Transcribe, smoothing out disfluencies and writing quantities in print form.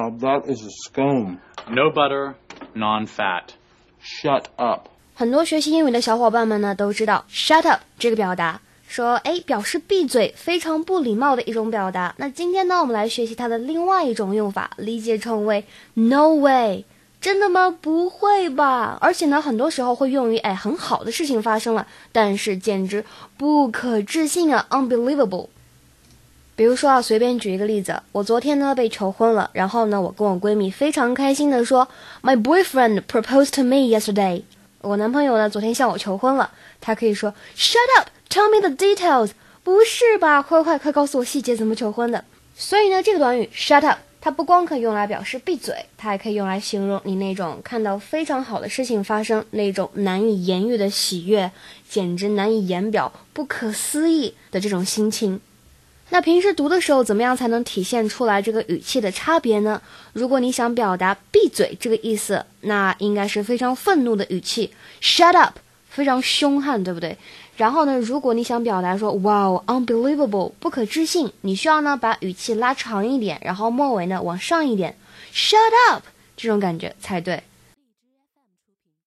That is a scone. No butter, non-fat. Shut up. 很多学习英语的小伙伴们呢都知道 shut up 这个表达，说表示闭嘴，非常不礼貌的一种表达。那今天呢我们来学习它的另外一种用法，理解成为 no way。 真的吗？不会吧。而且呢很多时候会用于很好的事情发生了，但是简直不可置信啊， unbelievable。 比如说随便举一个例子，我昨天呢被求婚了，然后呢我跟我闺蜜非常开心的说 My boyfriend proposed to me yesterday。 我男朋友呢昨天向我求婚了，他可以说 Shut up, tell me the details。 不是吧，快告诉我细节，怎么求婚的。所以呢这个短语 shut up 它不光可以用来表示闭嘴，它还可以用来形容你那种看到非常好的事情发生，那种难以言喻的喜悦，简直难以言表，不可思议的这种心情。那平时读的时候怎么样才能体现出来这个语气的差别呢？如果你想表达闭嘴这个意思，那应该是非常愤怒的语气 shut up， 非常凶悍，对不对？然后呢如果你想表达说 wow unbelievable 不可置信，你需要呢把语气拉长一点，然后末尾呢往上一点 shut up， 这种感觉才对。